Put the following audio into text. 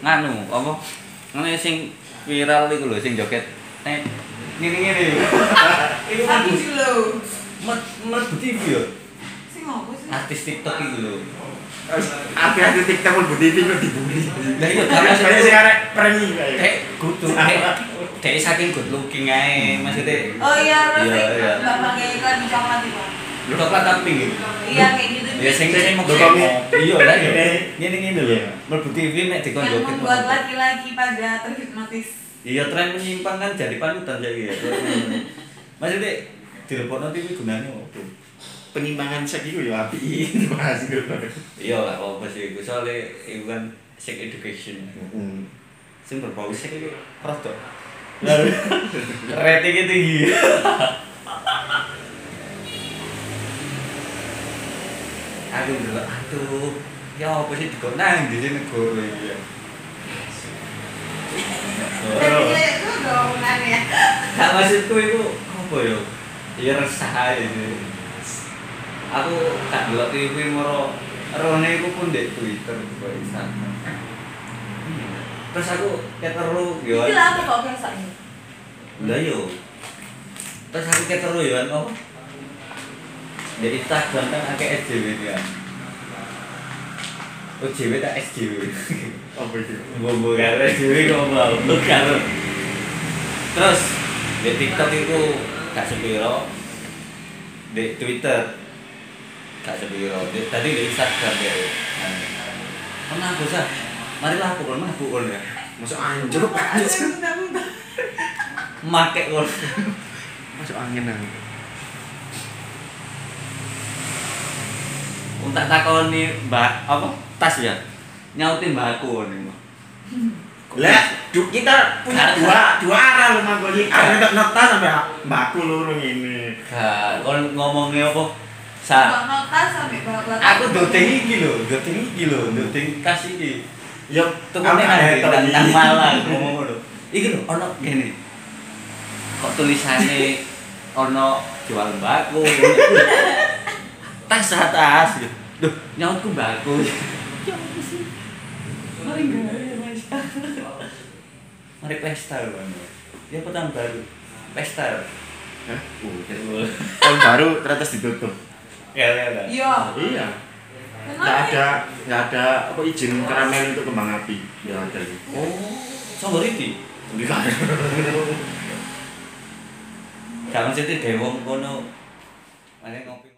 nganu apa? Ngene sing viral iku lho sing joget. Ngene-ngene. Iku Aku lho. mlebu TV yo. Sing ngopo sih? Artis TikTok iku lho. Artis TikTok mlebu TV kok dibully. Lah iya karena sing arek premi kae. Dek kudu dek saking good looking ae maksudnya. Oh iya, iya. bapaknya iklan di coklat itu. Coklat tapi Iya kayak gitu. ya sing mau iya lah ya. Ngene-ngene lho. Mlebu TV nek dikon Yang joget. membuat laki-laki pada terhipnotis. Iya tren menyimpang kan jadi panutan saiki ya. Maksudnya dilebokno TV gunane opo? Penyimpangan seks iku ya apik bahas iku. Iya lah apa sih iku soalnya iku kan sex education. Sing berbau seks iku rodok. Ratingnya tinggi. Aduh, ya apa sih dikon nang di sini negara iki ya. Tapi itu dongeng ya. Gak maksudku itu apa ya? Ya resah aja sih. Aku gak delok TV moro rone iku pun ndek Twitter kok Instagram. Terus aku keteru yo. Iki lah aku kok kersane. Lah yo. Terus aku keteru yo apa? Di Instagram kan akeh SJW dia. OJW tak SJW. Apa itu? Bobo karo SJW kok mau karo. Terus di TikTok itu gak sepiro. Di Twitter gak sepiro. Tadi di Instagram ya. Mana aku sah? Marilah aku pukul ya. Masuk anjlok. Make kok. Masuk angin nang. Untuk takoni Mbak apa? Tas ya. Nyautin mbakku nih. Lah, kita punya dua arah lho mangkoni. Ada nota sampai mbakku loro ngene. Gak, kon ngomongnya apa? Notas sampai bapak. Aku doting iki lho, doting kas iki. Ya Tukune nang Malang ngomong lho. Iki lho ono ngene. Kok tulisane ono jual mbakku. Tas. Duh, nyautku mbakku. Ya apa sih? Mari guys. Mari pesta lho. Ya apa tahun baru? Pesta. Hah? Betul. Tahun baru ternyata ditutup. Ya. Iya. Iya. Kenapa? Nggak ada apa izin keramaian untuk kembang api. Ya ada. Oh, sambal iki. Bukan. Jangan sithik dewong kono. Mane ngopi.